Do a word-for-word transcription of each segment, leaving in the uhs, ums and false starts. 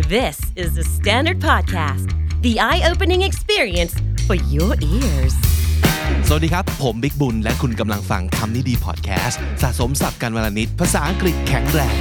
This is the Standard Podcast, the eye-opening experience for your ears. สวัสดีครับผมบิ๊กบุญและคุณกำลังฟังคำนี้ดีพอดแคสต์สะสมศัพท์กันวลนิดภาษาอังกฤษแข็งแรง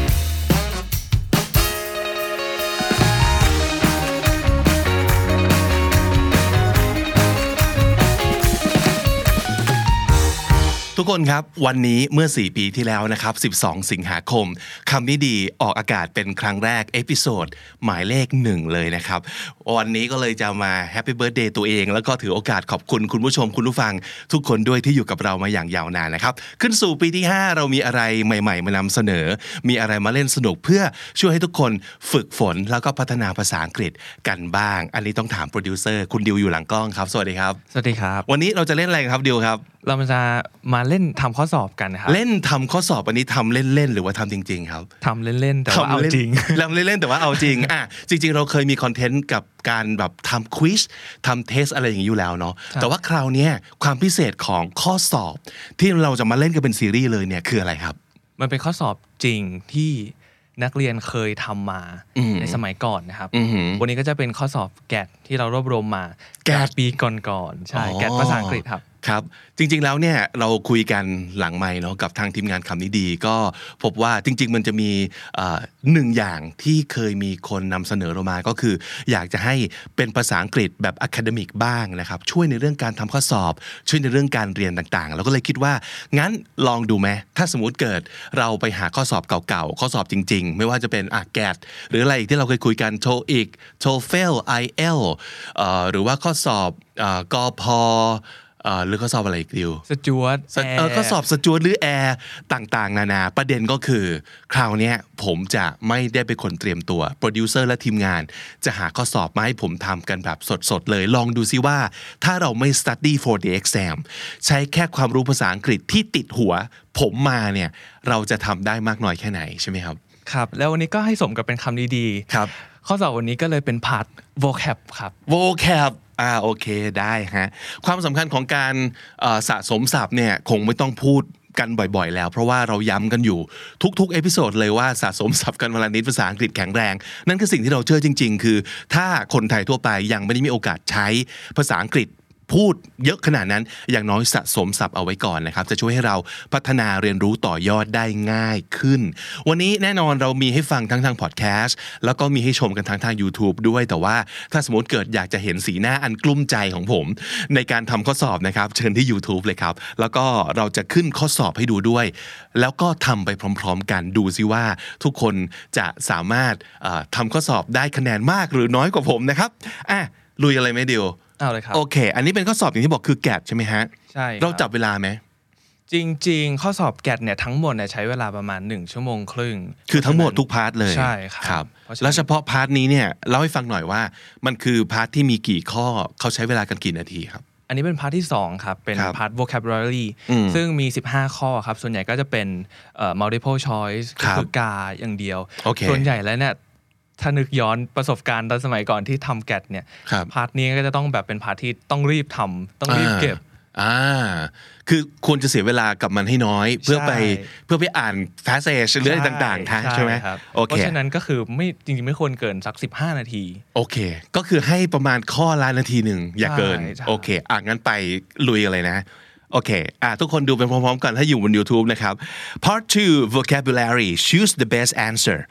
ทุกคนครับวันนี้เมื่อสี่ปีที่แล้วนะครับสิบสองสิงหาคมคำนี้ดีออกอากาศเป็นครั้งแรกเอพิโซดหมายเลขหนึ่งเลยนะครับวันนี้ก็เลยจะมาแฮปปี้เบิร์ธเดย์ตัวเองแล้วก็ถือโอกาสขอบคุณคุณผู้ชมคุณผู้ฟังทุกคนด้วยที่อยู่กับเรามาอย่างยาวนานนะครับขึ้นสู่ปีที่ห้าเรามีอะไรใหม่ๆมานำเสนอมีอะไรมาเล่นสนุกเพื่อช่วยให้ทุกคนฝึกฝนแล้วก็พัฒนาภาษาอังกฤษกันบ้างอันนี้ต้องถามโปรดิวเซอร์คุณดิวอยู่หลังกล้องครับสวัสดีครับสวัสดีครับวันนี้เราจะเล่นอะไรครับดิวครับเราจะมาเล่นทำข้อสอบกันครับเล่นทำข้อสอบอันนี้ทำเล่นๆหรือว่าทำจริงๆครับทำเล่นๆแต่ว่าเอาจริงทำเล่นๆแต่ว่าเอาจริงอ่ะจริงๆเราเคยมีคอนเทนต์กับการแบบทำควิซทำเทสอะไรอย่างนี้อยู่แล้วเนาะแต่ว่าคราวนี้ความพิเศษของข้อสอบที่เราจะมาเล่นกันเป็นซีรีส์เลยเนี่ยคืออะไรครับมันเป็นข้อสอบจริงที่นักเรียนเคยทำมาในสมัยก่อนนะครับวันนี้ก็จะเป็นข้อสอบแกดที่เรารวบรวมมาแกดปีก่อนๆใช่แกดภาษาอังกฤษครับครับจริงๆแล้วเนี่ยเราคุยกันหลังไมค์เนาะกับทางทีมงานคำนี้ดีก็พบว่าจริงๆมันจะมีหนึ่งอย่างที่เคยมีคนนำเสนอเรามาก็คืออยากจะให้เป็นภาษาอังกฤษแบบอะคาเดมิกบ้างนะครับช่วยในเรื่องการทำข้อสอบช่วยในเรื่องการเรียนต่างๆเราก็เลยคิดว่างั้นลองดูไหมถ้าสมมุติเกิดเราไปหาข้อสอบเก่าๆข้อสอบจริงๆไม่ว่าจะเป็นอ่ะแกดหรืออะไรอีกที่เราเคยคุยกัน โทอีก โทเฟล ไอ เอล เอ่อหรือว่าข้อสอบอ่ากพเอ่อหรือข้อสอบอะไรอีกดิวสจ๊วตเออข้อสอบสจ๊วตหรือแอร์ต่างๆนานาประเด็นก็คือคราวนี้ผมจะไม่ได้เป็นคนเตรียมตัวโปรดิวเซอร์และทีมงานจะหาข้อสอบมาให้ผมทำกันแบบสดๆเลยลองดูซิว่าถ้าเราไม่ study for the exam ใช้แค่ความรู้ภาษาอังกฤษที่ติดหัวผมมาเนี่ยเราจะทำได้มากน้อยแค่ไหนใช่ไหมครับครับแล้ววันนี้ก็ให้สมกับเป็นคำดีๆครับข้อสอบวันนี้ก็เลยเป็นพาร์ท vocab ครับ vocabอ่าโอเคได้ฮะความสำคัญของการสะสมศัพท์เนี่ยคงไม่ต้องพูดกันบ่อยๆแล้วเพราะว่าเราย้ำกันอยู่ทุกๆเอพิโซดเลยว่าสะสมศัพท์กันวันละนิดภาษาอังกฤษแข็งแรงนั่นคือสิ่งที่เราเชื่อจริงๆคือถ้าคนไทยทั่วไปยังไม่ได้มีโอกาสใช้ภาษาอังกฤษพูดเยอะขนาดนั้นอย่างน้อยสะสมศัพท์เอาไว้ก่อนนะครับจะช่วยให้เราพัฒนาเรียนรู้ต่อยอดได้ง่ายขึ้นวันนี้แน่นอนเรามีให้ฟังทั้งทางพอดแคสต์แล้วก็มีให้ชมกันทั้งทาง YouTube ด้วยแต่ว่าถ้าสมมติเกิดอยากจะเห็นสีหน้าอันกลุ้มใจของผมในการทำข้อสอบนะครับเชิญที่ YouTube เลยครับแล้วก็เราจะขึ้นข้อสอบให้ดูด้วยแล้วก็ทำไปพร้อมๆกันดูซิว่าทุกคนจะสามารถทำข้อสอบได้คะแนนมากหรือน้อยกว่าผมนะครับอ่ะลุยอะไรไหมเดียวเอาเลยครับโอเคอันนี้เป็นข้อสอบอย่างที่บอกคือแกดใช่ไหมฮะใช่เราจับเวลาไหมจริงๆข้อสอบแกดเนี่ยทั้งหมดเนี่ยใช้เวลาประมาณหนึ่งชั่วโมงครึ่งคือทั้งหมดทุกพาร์ทเลยใช่ครับแล้วเฉพาะพาร์ทนี้เนี่ยเล่าให้ฟังหน่อยว่ามันคือพาร์ทที่มีกี่ข้อเขาใช้เวลากันกี่นาทีครับอันนี้เป็นพาร์ทที่สองครับเป็นพาร์ท vocabulary ซึ่งมีสิบห้าข้อครับส่วนใหญ่ก็จะเป็นเอ่อ multiple choice คือกาอย่างเดียวส่วนใหญ่แล้วเนี่ยถ้านึกย้อนประสบการณ์ตอนสมัยก่อนที่ทำแกดเนี่ยพาร์ทนี้ก็จะต้องแบบเป็นพาร์ทที่ต้องรีบทำต้องรีบเก็บอ่าคือควรจะเสียเวลากับมันให้น้อยเพื่อไปเพื่อไปอ่าน passage หรืออะไรต่างๆทั้งใช่ไหมโอเคเพราะฉะนั้นก็คือไม่จริงๆไม่ควรเกินสักสิบห้านาทีโอเคก็คือให้ประมาณข้อละนาทีหนึ่งอย่าเกินโอเคอ่ะงั้นไปลุยอะไรนะโอเคอ่ะทุกคนดูไปพร้อมๆกันถ้าอยู่บน YouTube นะครับ Part two vocabulary choose the best answer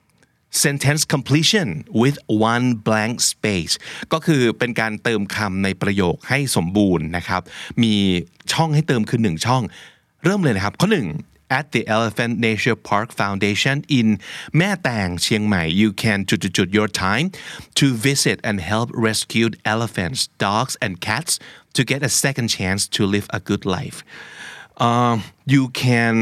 sentence completion with one blank space ก็คือเป็นการเติมคำในประโยคให้สมบูรณ์นะครับมีช่องให้เติมคือหนึ่งช่องเริ่มเลยนะครับข้อหนึ่ง at the Elephant Nature Park Foundation in แม่แตงเชียงใหม่ you can จุดๆ your time to visit and help rescued elephants dogs and cats to get a second chance to live a good life uh, you can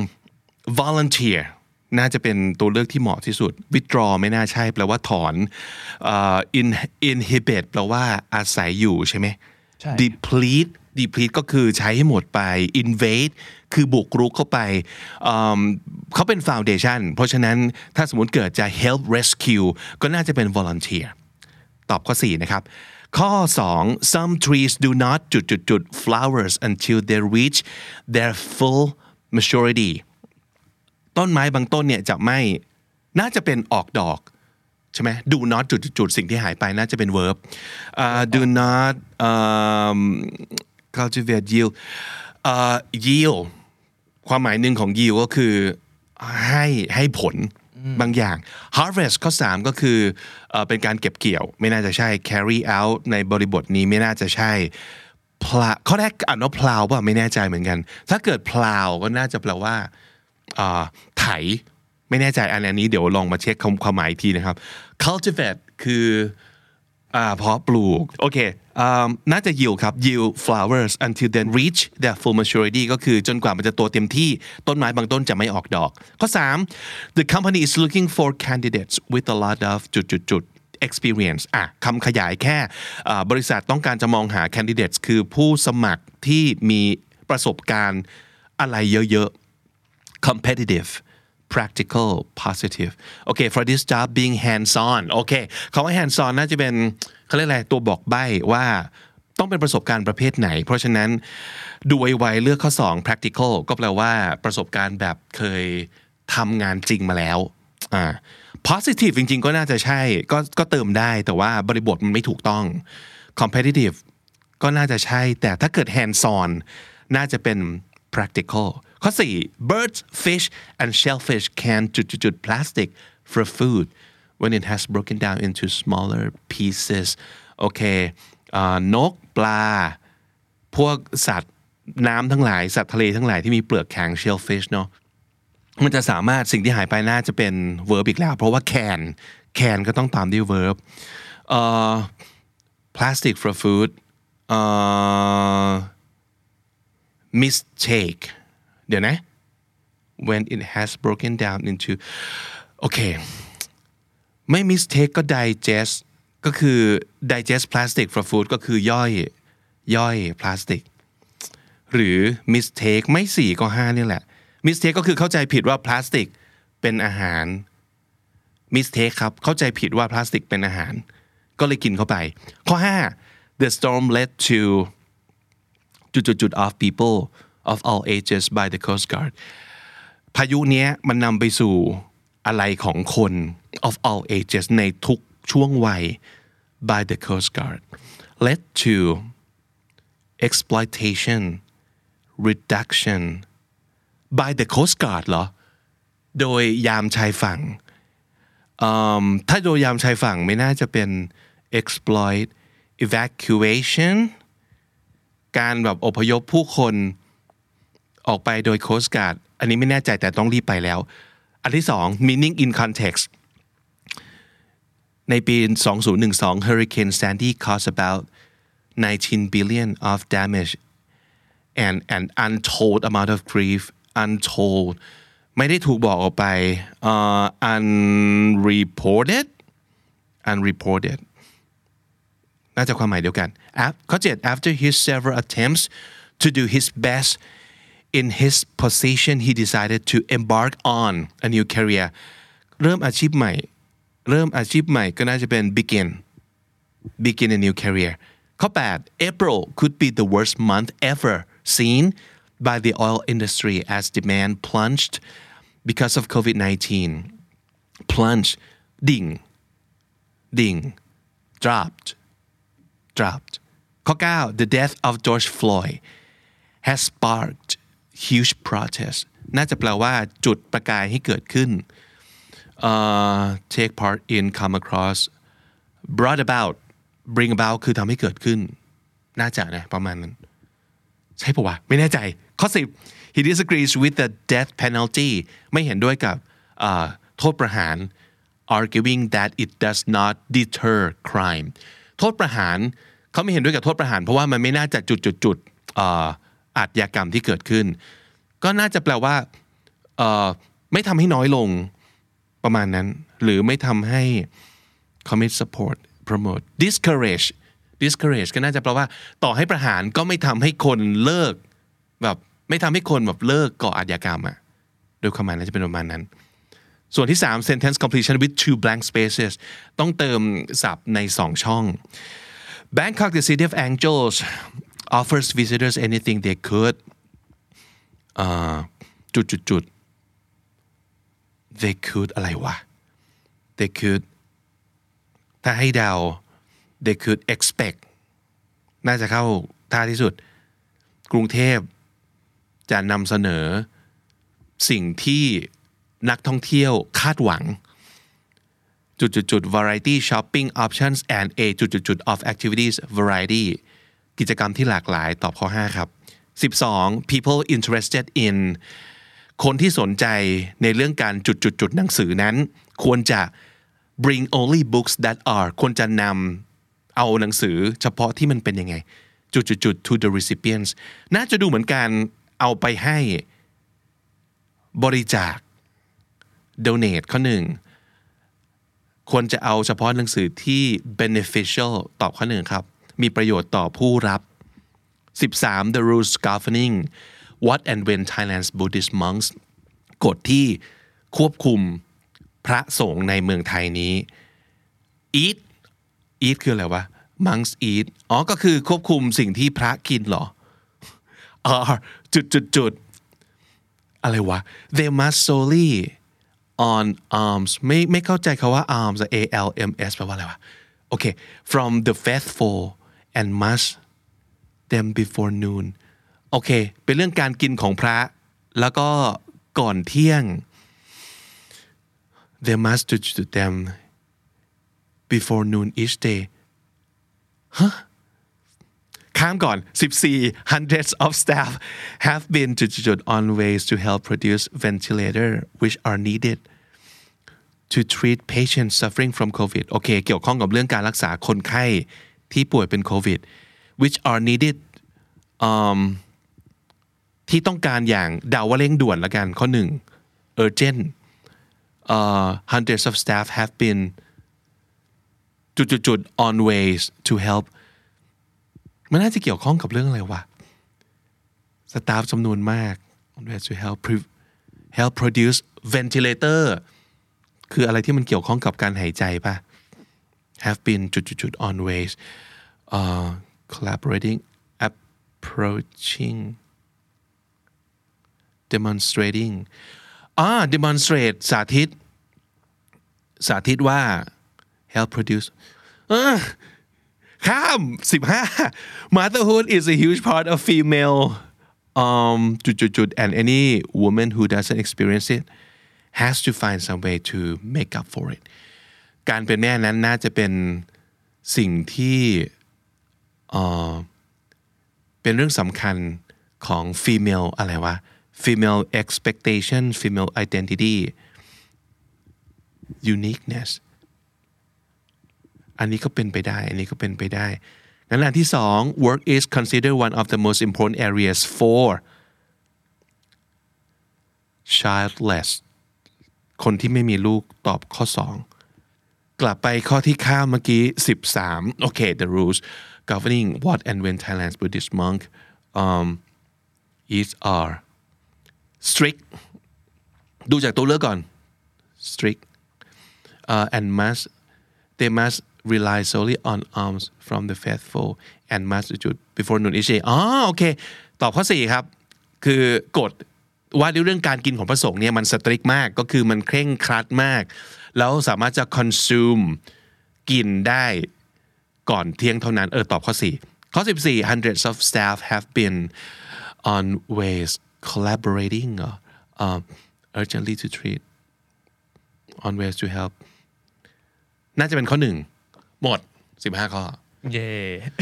volunteerน่าจะเป็นตัวเลือกที่เหมาะที่สุด withdraw ไม่น่าใช่แปลว่าถอน uh, in inhibit แปลว่าอาศัยอยู่ใช่ไหม deplete deplete ก็คือใช้ให้หมดไป invade คือบุกรุกเข้าไป um, เขาเป็น foundation เพราะฉะนั้นถ้าสมมติเกิดจะ help rescue ก็น่าจะเป็น volunteer ตอบข้อสี่นะครับข้อสอง some trees do not จุดจุดจุด flowers until they reach their full maturity ต้นไม้บางต้นเนี่ยจะไม่น่าจะเป็นออกดอกใช่ไหม do not จุดๆสิ่งที่หายไปน่าจะเป็น verb uh, do not um, cultivate yield uh, yield ความหมายหนึ่งของ yield ก็คือให้ให้ผลบางอย่าง harvest ข้อสามก็คือเอ่อเป็นการเก็บเกี่ยวไม่น่าจะใช่ carry out ในบริบทนี้ไม่น่าจะใช่ plow ข้อแรกอ่านว่า plow ป่ะไม่แน่ใจเหมือนกันถ้าเกิด plow ก็น่าจะแปลว่าอ่าไถไม่แน่ใจอันนี้เดี๋ยวลองมาเช็คความหมายอีกทีนะครับ cultivate คืออ่าเพาะปลูกโอเคอ่าน่าจะ yield ครับ yield flowers until then reach their full maturity ก็คือจนกว่ามันจะโตเต็มที่ต้นไม้บางต้นจะไม่ออกดอกข้อสาม the company is looking for candidates with a lot of จุดจุดจุด experience อ่ะคำขยายแค่อ่าบริษัทต้องการจะมองหา candidates คือผู้สมัครที่มีประสบการณ์อะไรเยอะๆ competitive practical positive โอเค for this job being hands on โอเคคำว่า hands on น่าจะเป็นเขาเรียกอะไรตัวบอกใบ้ว่าต้องเป็นประสบการณ์ประเภทไหนเพราะฉะนั้นดูไวๆเลือกข้อสอง practical ก็แปลว่าประสบการณ์แบบเคยทำงานจริงมาแล้วอ่า positive จริงๆก็น่าจะใช่ก็ก็เติมได้แต่ว่าบริบทมันไม่ถูกต้อง competitive ก็น่าจะใช่แต่ถ้าเกิด hands on น่าจะเป็น practicalข้อสี่ birds fish and shellfish can จุดๆ plastic for food when it has broken down into smaller pieces โอเคนกปลาพวกสัตว์น้ำทั้งหลายสัตว์ทะเลทั้งหลายที่มีเปลือกแข็ง shellfish เนาะมันจะสามารถสิ่งที่หายไปน่าจะเป็น verb อีกแล้วเพราะว่า can can ก็ต้องตามด้วย verb เอ่อ plastic for food เอ่อ mistake เดี๋ยวนะ when it has broken down into โอเคไม่ mistake ก็ digest ก็คือ digest plastic for food ก็คือย่อยย่อยพลาสติกหรือ mistake ไม่สี่ก็ห้านี่แหละ mistake ก็คือเข้าใจผิดว่าพลาสติกเป็นอาหาร mistake ครับเข้าใจผิดว่าพลาสติกเป็นอาหารก็เลยกินเข้าไปข้อห้า the storm led to จุดๆ of people of all ages by the Coast Guard พายุเนี้ยมันนำไปสู่อะไรของคน of all ages ในทุกช่วงวัย by the Coast Guard led to exploitation reduction by the Coast Guard เหรอโดยยามชายฝั่งถ้าโดยยามชายฝั่งไม่น่าจะเป็น exploit evacuation การแบบอพยพผู้คนออกไปโดย Coast Guard อันนี้ไม่แน่ใจแต่ต้องรีบไปแล้วอันที่สอง meaning in context ในปีสองพันสิบสอง Hurricane Sandy caused about nineteen billion of damage and an untold amount of grief untold ไม่ได้ถูกบอกออกไป uh, unreported unreported น่าจะความหมายเดียวกันข้อเจ็ด after his several attempts to do his best in his position he decided to embark on a new career เริ่มอาชีพใหม่เริ่มอาชีพใหม่ก็น่าจะเป็น begin begin a new career ข้อแปด April could be the worst month ever seen by the oil industry as demand plunged because of โควิด nineteen plunge ดิ่งดิ่ง dropped dropped ข้อเก้า the death of George Floyd has sparked huge protest น่าจะแปลว่าจุดประกายให้เกิดขึ้น uh, take part in come across brought about bring about คือทำให้เกิดขึ้นน่าจะนะประมาณนั้นใช่ปะวะไม่แน่ใจข้อสิบ he disagrees with the death penalty ไม่เห็นด้วยกับuh,โทษประหาร arguing that it does not deter crime โทษประหารเขาไม่เห็นด้วยกับโทษประหารเพราะว่ามันไม่น่าจะจุดจุดจุดอาชญากรรมที่เกิดขึ้นก็น่าจะแปลว่าไม่ทำให้น้อยลงประมาณนั้นหรือไม่ทำให้ commit support promote discourage discourage ก็น่าจะแปลว่าต่อให้ประหารก็ไม่ทำให้คนเลิกแบบไม่ทำให้คนแบบเลิกก่ออาชญากรรมอะโดยความหมายน่าจะเป็นประมาณนั้นส่วนที่สาม sentence completion with two blank spaces ต้องเติมศัพท์ในสองช่อง Bangkok the city of angels offers visitors anything they could จุดจุดจุด they could อะไรวะ they could ถ้าให้เดา they could expect น่าจะเข้าท่าที่สุดกรุงเทพจะนำเสนอสิ่งที่นักท่องเที่ยวคาดหวังจุดๆ variety shopping options and a จุดๆ of activities variety กิจกรรมที่หลากหลายตอบข้อห้าครับสิบสอง people interested in คนที่สนใจในเรื่องการจุดๆหนังสือนั้นควรจะ bring only books that are ควรจะนำเอาหนังสือเฉพาะที่มันเป็นยังไงจุดๆ to the recipients น่าจะดูเหมือนการเอาไปให้บริจาค donate ข้อหนึ่งควรจะเอาเฉพาะหนังสือที่ beneficial ตอบข้อหนึ่งครับมีประโยชน์ต่อผู้รับสิบสาม the rules governing what and when Thailand's Buddhist monks กฎที่ควบคุมพระสงฆ์ในเมืองไทยนี้ eat eat คืออะไรวะ monks eat อ๋อก็คือควบคุมสิ่งที่พระกินเหรออ๋อจุดจุดจุดอะไรวะ they must solely on alms ไม่ไม่เข้าใจคำว่า alms A L M S แปลว่าอะไรวะโอเค from the faithful and must them before noon โอเคเป็นเรื่องการกินของพระแล้วก็ก่อนเที่ยง they must do to them before noon each day ฮะข้ามก่อนสิบสี่ hundreds of staff have been to on ways to help produce ventilator which are needed to treat patients suffering from COVID โอเคเกี่ยวข้องกับเรื่องการรักษาคนไข้ที่ป่วยเป็นโควิด which are needed um, ที่ต้องการอย่างเดาว่าเร่งด่วนละกันข้อหนึ่ง urgent uh, hundreds of staff have been จุดๆ on ways to helpมันน่าจะเกี่ยวข้องกับเรื่องอะไรวะสตาฟจำนวนมาก on ways to help help produce ventilator คืออะไรที่มันเกี่ยวข้องกับการหายใจป่ะ have been จุดๆ on ways uh, collaborating approaching demonstrating อ่า demonstrate สาธิตสาธิตว่า help produce อ่าข้ามสิบห้า motherhood is a huge part of female um จุดๆ and any woman who doesn't experience it has to find some way to make up for it การเป็นแม่นั้นน่าจะเป็นสิ่งที่เอ่อเป็นเรื่องสำคัญของ female อะไรวะ female expectation female identity uniqueness อันนี้ก็เป็นไปได้อันนี้ก็เป็นไปได้งั้นอันที่สอง work is considered one of the most important areas for childless คนที่ไม่มีลูกตอบข้อสองกลับไปข้อที่ข้ามเมื่อกี้สิบสามโอเค the rules governing what and when Thailand's Buddhist monk um, is are strict ดูจากตัวเลือกก่อน strict uh, and must they must rely solely on alms from the faithful and must do before noon each day อ๋อโอเคตอบข้อสี่ครับคือกฎว่าด้วยเรื่องการกินของพระสงฆ์เนี่ยมันสตริกมากก็คือมันเคร่งครัดมากแล้วสามารถจะ consume กินได้ก่อนเที่ยงเท่านั้นเออตอบข้อสี่ข้อสิบสี่ hundreds of staff have been on ways collaborating uh, uh, urgently to treat on ways to help น่าจะเป็นข้อหนึ่งหมดสิบห้าข้อเย่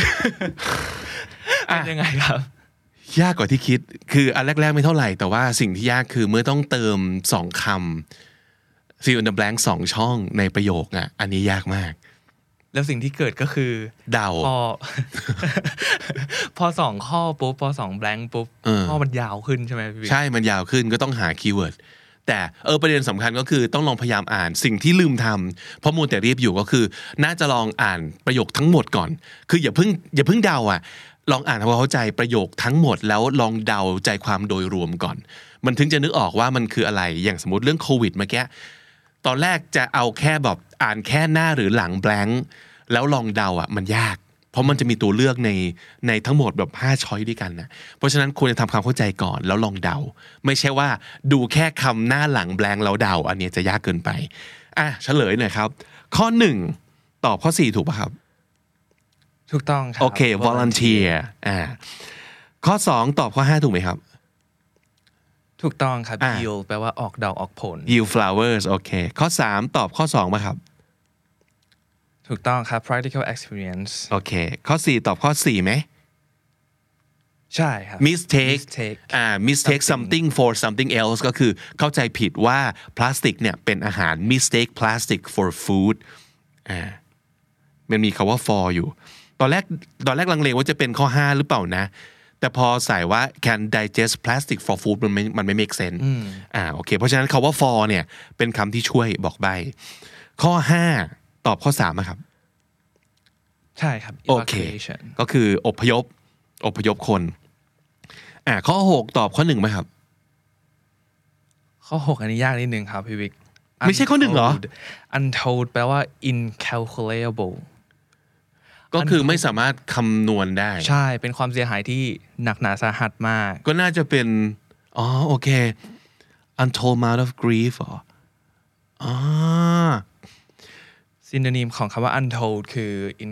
เป็นยังไงครับยากกว่าที่คิดคืออันแรกๆไม่เท่าไหร่แต่ว่าสิ่งที่ยากคือเมื่อต้องเติมสองคำ fill in the blank สองช่องในประโยคอ่ะอันนี้ยากมากแล้วสิ่งที่เกิดก็คือเดาพอ พอสองข้อปุ๊บพอสอง blank ปุ๊บข้อมันยาวขึ้นใช่ไหมพี่ใช่มันยาวขึ้นก็ต้องหาคีย์เวิร์ดแต่เออประเด็นสำคัญก็คือต้องลองพยายามอ่านสิ่งที่ลืมทำเพราะมัวแต่รีบอยู่ก็คือน่าจะลองอ่านประโยคทั้งหมดก่อนคืออย่าเพิ่งอย่าเพิ่งเดาอ่ะลองอ่านทำความเข้าใจประโยคทั้งหมดแล้วลองเดาใจความโดยรวมก่อนมันถึงจะนึกออกว่ามันคืออะไรอย่างสมมติเรื่องโควิดเมื่อกี้ตอนแรกจะเอาแค่แบบอ่านแค่หน้าหรือหลัง blank แล้วลองเดาอ่ะมันยากเพราะมันจะมีตัวเลือกในในทั้งหมดแบบห้าช้อยด้วยกันนะเพราะฉะนั้นควรจะทำความเข้าใจก่อนแล้วลองเดาไม่ใช่ว่าดูแค่คำหน้าหลังแบงค์แล้วเดาอันนี้จะยากเกินไปอ่ะเฉลยหน่อยครับข้อหนึ่งตอบข้อสี่ถูกป่ะครับถูกต้องครับโอเค volunteer อ่าข้อสองตอบข้อห้าถูกไหมครับถูกต้องครับ yield แปลว่าออกดอกออกผล yield flowers โอเคข้อสามตอบข้อสองป่ะครับถูกต้องครับ practical experience โอเคข้อสี่ตอบข้อสี่ไหมใช่ครับ mistake mistake อ่า mistake something for something else ก็คือเข้าใจผิดว่าพลาสติกเนี่ยเป็นอาหาร mistake plastic for food อ่ามันมีคำว่า for อยู่ตอนแรกตอนแรกลังเลว่าจะเป็นข้อห้าหรือเปล่านะแต่พอใส่ว่า can digest plastic for food มันไม่มันไม่ make sense อ่าโอเคเพราะฉะนั้นคำว่า for เนี่ยเป็นคำที่ช่วยบอกใบข้อห้าตอบข้อสามครับใช่ครับ evacuation ก็คืออพยพอพยพคนอ่าข้อหกตอบข้อหนึ่งไหมครับข้อหกอันนี้ยากนิดนึงครับพี่วิกไม่ใช่ข้อหนึ่งเหรอ untold แปลว่า incalculable ก็คือไม่สามารถคำนวณได้ใช่เป็นความเสียหายที่หนักหนาสาหัสมากก็น่าจะเป็นอ๋อโอเค untold amount of grief อ๋ออ๋อ synonym ของคำว่า untold คือ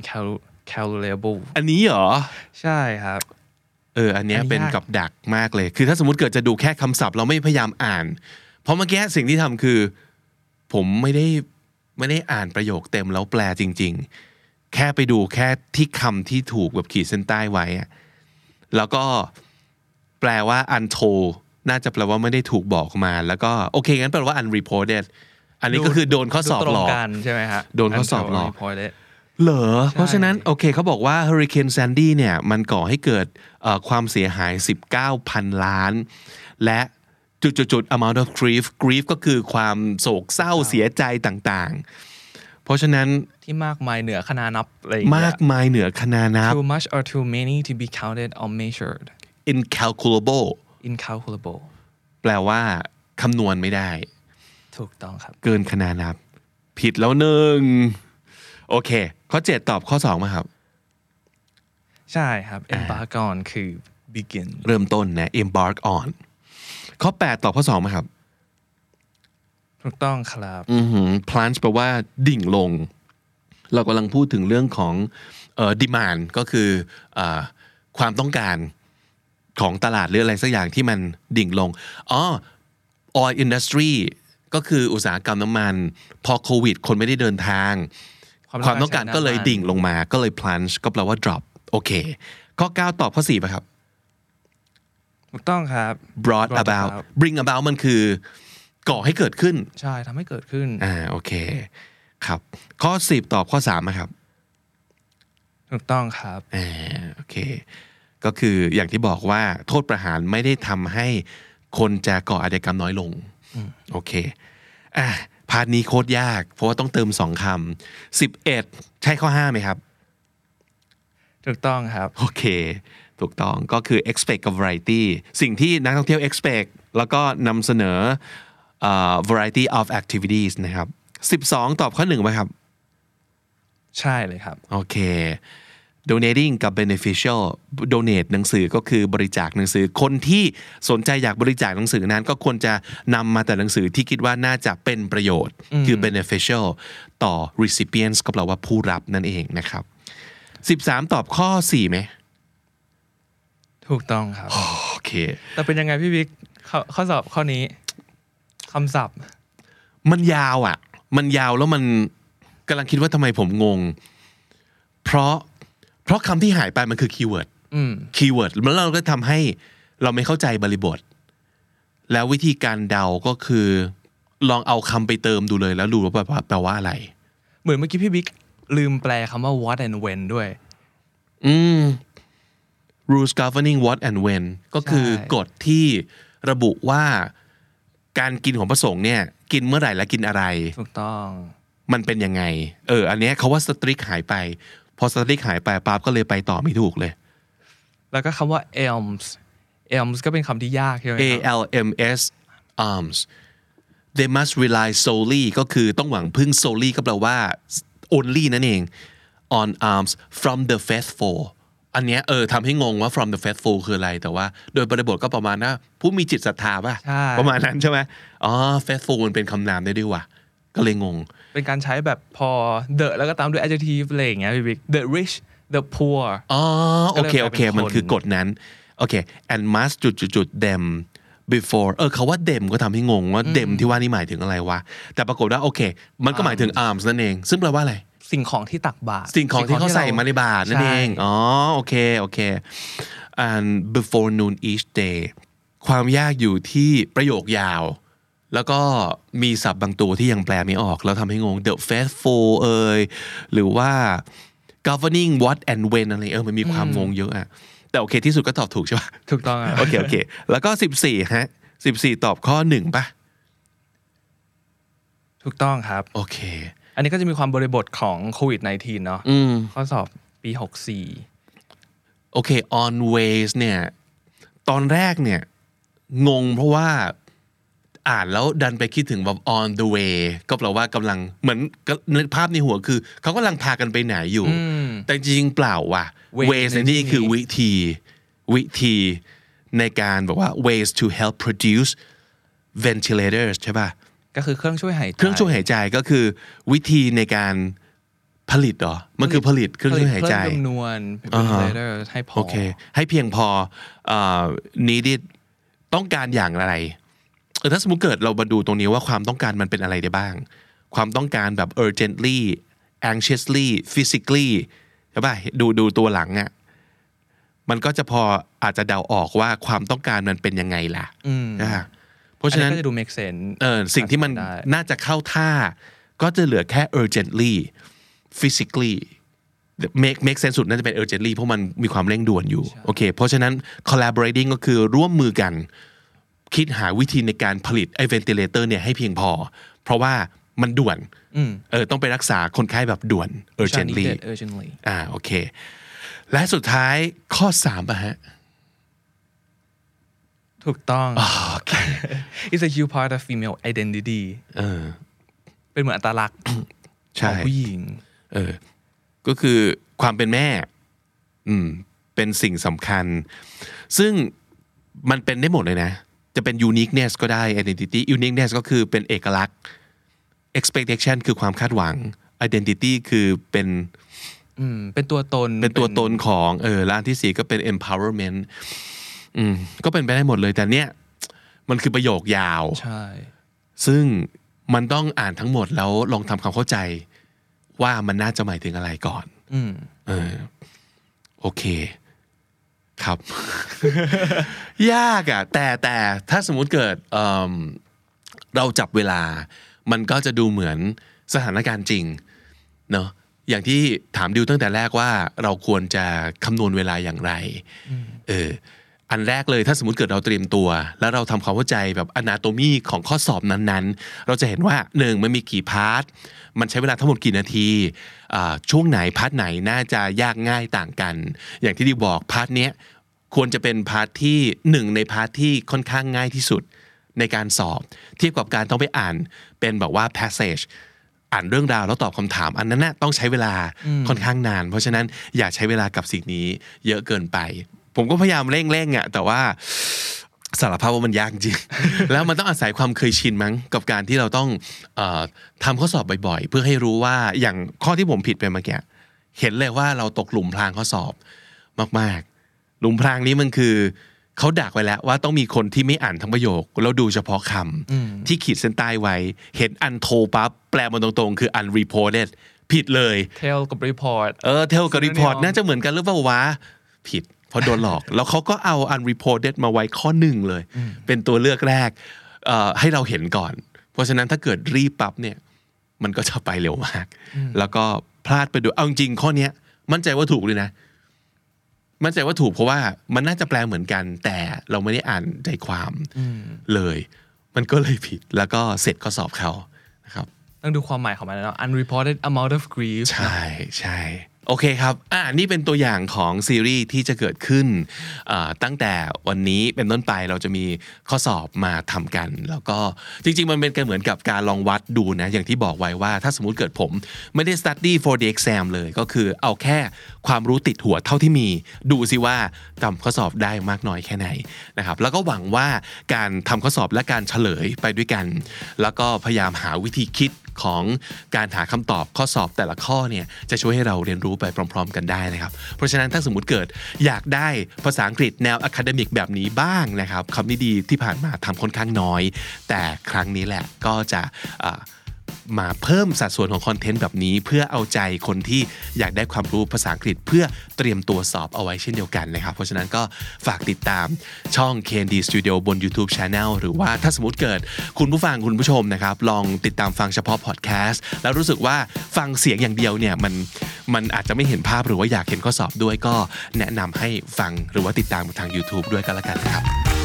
incalculable อันนี้เหรอใช่ครับเอออันนี้เป็นกับดักมากเลยคือถ้าสมมุติเกิดจะดูแค่คำศัพท์เราไม่พยายามอ่านเพราะเมื่อกี้สิ่งที่ทำคือผมไม่ได้ไม่ได้อ่านประโยคเต็มแล้วแปลจริงๆแค่ไปดูแค่ที่คำที่ถูกแบบขีดเส้นใต้ไว้แล้วก็แปลว่า untold น่าจะแปลว่าไม่ได้ถูกบอกมาแล้วก็โอเคงั้นแปลว่า unreported อันนี้ก็คือโดนข้อสอบหลอกใช่ไหมฮะโดนข้อสอบหลอกเหรอเพราะฉะนั้นโอเคเขาบอกว่า Hurricane Sandy เนี่ยมันก่อให้เกิดความเสียหาย สิบเก้าพัน ล้านและจุดๆ amount of grief grief ก็คือความโศกเศร้าเสียใจต่างๆเพราะฉะนั้นที่มากมายเหนือคณานับอะไรมากมายเหนือคณานับ too much or too many to be counted or measured incalculable incalculable แปลว่าคำนวณไม่ได้ถูกต้องครับเกินคณานับผิดแล้วหนึ่งโอเคข้อเจ็ดตอบข้อสองมาครับใช่ครับ embark on คือ begin เริ่มต้นนะ embark on ข้อแปดตอบข้อสองมาครับถูกต้องครับอือหือ plunge แปลว่าดิ่งลงเรากำลังพูดถึงเรื่องของเอ่อ demand ก็คือเอ่อความต้องการของตลาดหรืออะไรสักอย่างที่มันดิ่งลงอ๋อ oil industry ก็คืออุตสาหกรรมน้ำมันพอโควิดคนไม่ได้เดินทางความต้องการก็เลยดิ่งลงมาก็เลย plunge ก็แปลว่า drop โอเคข้อเก้าตอบข้อสี่ป่ะครับถูกต้องครับ brought about bring about มันคือก่อให้เกิดขึ้นใช่ทำให้เกิดขึ้นอ่าโอเคครับข้อสิบตอบข้อสามนะครับถูกต้องครับอ่าโอเคก็คืออย่างที่บอกว่าโทษประหารไม่ได้ทำให้คนจะก่ออาชญากรรมน้อยลงโอเคอ่ะพาร์ทนี้โคตรยากเพราะว่าต้องเติมสองคำสิบเอ็ดใช่ข้อห้าไหมครับถูกต้องครับโอเคถูกต้องก็คือ expect กับ variety สิ่งที่นักท่องเที่ยว expect แล้วก็นำเสนอ uh, variety of activities นะครับสิบสองตอบข้อหนึ่งไหมครับใช่เลยครับโอเค donating กับ beneficial donate หนังสือก็คือบริจาคหนังสือคนที่สนใจอยากบริจาคหนังสือนั้นก็ควรจะนำมาแต่หนังสือที่คิดว่าน่าจะเป็นประโยชน์คือ beneficial ต่อ recipients ก็แปลว่าผู้รับนั่นเองนะครับสิบสามตอบข้อสี่ไหมถูกต้องครับโอเคแต่เป็นยังไงพี่บิ๊กข้อสอบข้อนี้คำศัพท์มันยาวอ่ะมันยาวแล้วมันกำลังคิดว่าทำไมผมงงเพราะเพราะคำที่หายไปมันคือคีย์เวิร์ดคีย์เวิร์ดแล้วเราก็ทำให้เราไม่เข้าใจบริบทแล้ววิธีการเดาก็คือลองเอาคำไปเติมดูเลยแล้วดูว่าแปลว่าอะไรเหมือนเมื่อกี้พี่บิ๊กลืมแปลคำว่า what and when ด้วยอืม rules governing what and when ก็คือกฎที่ระบุว่าการกินของพระสงฆ์เนี่ยกินเมื่อไหร่และกินอะไรถูกต้องมันเป็นยังไงเอออันเนี้ยเขาว่า strict หายไปพอ strict หายไปปั๊บก็เลยไปต่อไม่ถูกเลยแล้วก็คำว่า elms elms ก็เป็นคำที่ยากใช่ไหม A L M S arms they must rely solely ก็คือต้องหวังพึ่ง solely ก็แปลว่า only นั่นเอง on arms from the faithful อันเนี้ยเออทำให้งงว่า from the faithful คืออะไรแต่ว่าโดยบริบทก็ประมาณนะผู้มีจิตศรัทธาป่ะประมาณนั้นใช่ไหมอ๋อ faithful มันเป็นคำนามได้ด้วยว่ะก็เลยงงเป็นการใช้แบบพอ the แล้วก็ตามด้วย adjective อะไรอย่างเงี้ยพี่บิ๊ก the rich the poor อ๋อโอเคโอเคมันคือกฎนั้นโอเค and must จุดจุดจุด them before เออเขาว่า them ก็ทำให้งงว่า them ที่ว่านี่หมายถึงอะไรวะแต่ปรากฏว่าโอเคมันก็หมายถึง arms นั่นเองซึ่งแปลว่าอะไรสิ่งของที่ตักบาตรสิ่งของที่เขาใส่มาในบาตรนั่นเองอ๋อโอเคโอเค and before noon each day ความยากอยู่ที่ประโยคยาวแล้วก็มีศัพท์บางตัวที่ยังแปลไม่ออกแล้วทำให้งง the faithful เอ่ยหรือว่า governing what and when อะไรเออมันมีความงงเยอะอะแต่โอเคที่สุดก็ตอบถูกใช่ป่ะถูกต้องอ่ะโอเคโอเคแล้วก็สิบสี่ฮะสิบสี่ตอบข้อหนึ่งป่ะถูกต้องครับโอเคอันนี้ก็จะมีความบริบทของโควิด สิบเก้า เนาะข้อสอบปีหกสิบสี่โอเค on ways เนี่ยตอนแรกเนี่ยงงเพราะว่าอ่านแล้วดันไปคิดถึงแบบ on the way ก็แปลว่ากำลังเหมือนภาพในหัวคือเขากำลังพากันไปไหนอยู่แต่จริงๆเปล่าว่ะ ways ในนี่คือวิธีวิธีในการบอกว่า ways to help produce ventilators ใช่ป่ะก็คือเครื่องช่วยหายใจเครื่องช่วยหายใจก็คือวิธีในการผลิตเหรอมันคือผลิตเครื่องช่วยหายใจเพิ่มจำนวน ventilator ให้พอโอเคให้เพียงพอเอ่อ needed ต้องการอย่างไรเออถ้าสมมุติเกิดเรามาดูตรงนี้ว่าความต้องการมันเป็นอะไรได้บ้างความต้องการแบบ urgently anxiously physically ใช่ป่ะดูดูตัวหลังอ่ะมันก็จะพออาจจะเดาออกว่าความต้องการมันเป็นยังไงล่ะนะเพราะฉะนั้นก็จะดู make sense เออสิ่งที่มันน่าจะเข้าท่าก็จะเหลือแค่ urgently physically make make sense สุดน่าจะเป็น urgently เพราะมันมีความเร่งด่วนอยู่โอเคเพราะฉะนั้น collaborating ก็คือร่วมมือกันคิดหาวิธีในการผลิตไอ้ ventilator เนี่ยให้เพียงพอเพราะว่ามันด่วนเออต้องไปรักษาคนไข้แบบด่วน urgently อ่าโอเคและสุดท้ายข้อสามป่ะฮะถูกต้อง It's a huge part of female identity เออเป็นเหมือนอัตลักษณ์ของผู้หญิงเออก็คือความเป็นแม่อืมเป็นสิ่งสำคัญซึ่งมันเป็นได้หมดเลยนะจะเป็น uniqueness ก็ได้ identity uniqueness ก็คือเป็นเอกลักษณ์ expectation คือความคาดหวัง identity คือเป็นอืมเป็นตัวตนเป็นตัวตนของเออและอันที่สี่ก็เป็น empowerment อืมก็เป็นไปได้หมดเลยแต่เนี้ยมันคือประโยคยาวใช่ซึ่งมันต้องอ่านทั้งหมดแล้วลองทำความเข้าใจว่ามันน่าจะหมายถึงอะไรก่อนอืมเออโอเคครับ ยากอ่ะแต่แต่ถ้าสมมุติเกิด เอ่อ เราจับเวลามันก็จะดูเหมือนสถานการณ์จริงเนาะอย่างที่ถามดิวตั้งแต่แรกว่าเราควรจะคำนวณเวลาอย่างไรเอออันแรกเลยถ้าสมมุติเกิดเราเตรียมตัวแล้วเราทำความเข้าใจแบบ anatomy ของข้อสอบนั้นๆเราจะเห็นว่าหนึ่งมันมีกี่พาร์ทมันใช้เวลาทั้งหมดกี่นาทีช่วงไหนพาร์ทไหนน่าจะยากง่ายต่างกันอย่างที่ดิวบอกพาร์ทเนี้ยควรจะเป็นพาร์ทที่หนึ่งในพาร์ทที่ค่อนข้างง่ายที่สุดในการสอบเทียบกับการต้องไปอ่านเป็นแบบว่า passage อ่านเรื่องราวแล้วตอบคำถามอันนั้นน่ะต้องใช้เวลาค่อนข้างนานเพราะฉะนั้นอย่าใช้เวลากับสิ่งนี้เยอะเกินไปผมก็พยายามเร่งๆอ่ะแต่ว่าสารภาพว่ามันยากจริง แล้วมันต้องอาศัยความเคยชินมั้งกับการที่เราต้องเอ่อทำข้อสอบบ่อยๆเพื่อให้รู้ว่าอย่างข้อที่ผมผิดไปเมื่อกี้เห็นเลยว่าเราตกหลุมพรางข้อสอบมากๆหลุมพรางนี้มันคือเขาดักไว้แล้วว่าต้องมีคนที่ไม่อ่านทั้งประโยคแล้วดูเฉพาะคำที่ขีดเส้นใต้ไว้เห็น untold ปั๊บแปลมาตรงๆคือ unreported ผิดเลย tell กับ report เออ tell กับ report น่าจะเหมือนกันหรือเปล่าวะผิดเพราะโดนหลอกแล้วเขาก็เอา unreported มาไว้ข้อหนึ่งเลยเป็นตัวเลือกแรกเอ่อให้เราเห็นก่อนเพราะฉะนั้นถ้าเกิดรีบปั๊บเนี่ยมันก็จะไปเร็วมากแล้วก็พลาดไปดูเอาจริงข้อเนี้ยมั่นใจว่าถูกเลยนะมั่นใจว่าถูกเพราะว่ามันน่าจะแปลเหมือนกันแต่เราไม่ได้อ่านใจความเลยมันก็เลยผิดแล้วก็เสร็จข้อสอบเขานะครับต้องดูความหมายของมันแล้ว unreported amount of grief ใช่ใช่โอเคครับอ่านี่เป็นตัวอย่างของซีรีส์ที่จะเกิดขึ้นตั้งแต่วันนี้เป็นต้นไปเราจะมีข้อสอบมาทำกันแล้วก็จริงๆมันเป็นกันเหมือนกับการลองวัดดูนะอย่างที่บอกไว้ว่าถ้าสมมุติเกิดผมไม่ได้ study for the exam เลยก็คือเอาแค่ความรู้ติดหัวเท่าที่มีดูสิว่าทำข้อสอบได้มากน้อยแค่ไหนนะครับแล้วก็หวังว่าการทำข้อสอบและการเฉลยไปด้วยกันแล้วก็พยายามหาวิธีคิดของการหาคำตอบข้อสอบแต่ละข้อเนี่ยจะช่วยให้เราเรียนรู้ไปพร้อมๆกันได้นะครับเพราะฉะนั้นถ้าสมมุติเกิดอยากได้ภาษาอังกฤษแนวอะคาเดมิกแบบนี้บ้างนะครับคำนี้ดีที่ผ่านมาทำค่อนข้างน้อยแต่ครั้งนี้แหละก็จะมาเพิ่มสัดส่วนของคอนเทนต์แบบนี้เพื่อเอาใจคนที่อยากได้ความรู้ภาษาอังกฤษเพื่อเตรียมตัวสอบเอาไว้เช่นเดียวกันนะครับเพราะฉะนั้นก็ฝากติดตามช่อง เค เอ็น ดี Studio บน YouTube Channel หรือว่าถ้าสมมติเกิดคุณผู้ฟังคุณผู้ชมนะครับลองติดตามฟังเฉพาะพอดแคสต์แล้วรู้สึกว่าฟังเสียงอย่างเดียวเนี่ยมันมันอาจจะไม่เห็นภาพหรือว่าอยากเห็นข้อสอบด้วยก็แนะนำให้ฟังหรือว่าติดตามทาง YouTube ด้วยก็แล้วกันนะครับ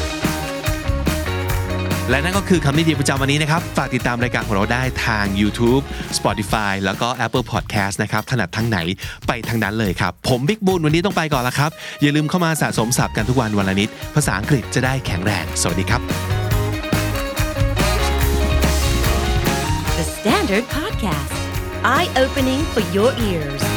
และนั่นก็คือคำนิยามประจำวันนี้นะครับฝากติดตามรายการของเราได้ทาง YouTube Spotify แล้วก็ Apple Podcast นะครับถนัดทางไหนไปทางนั้นเลยครับผมบิ๊กบูนวันนี้ต้องไปก่อนละครับอย่าลืมเข้ามาสะสมศัพท์กันทุกวันวันละนิดภาษาอังกฤษจะได้แข็งแรงสวัสดีครับ The Standard Podcast Eye Opening for Your Ears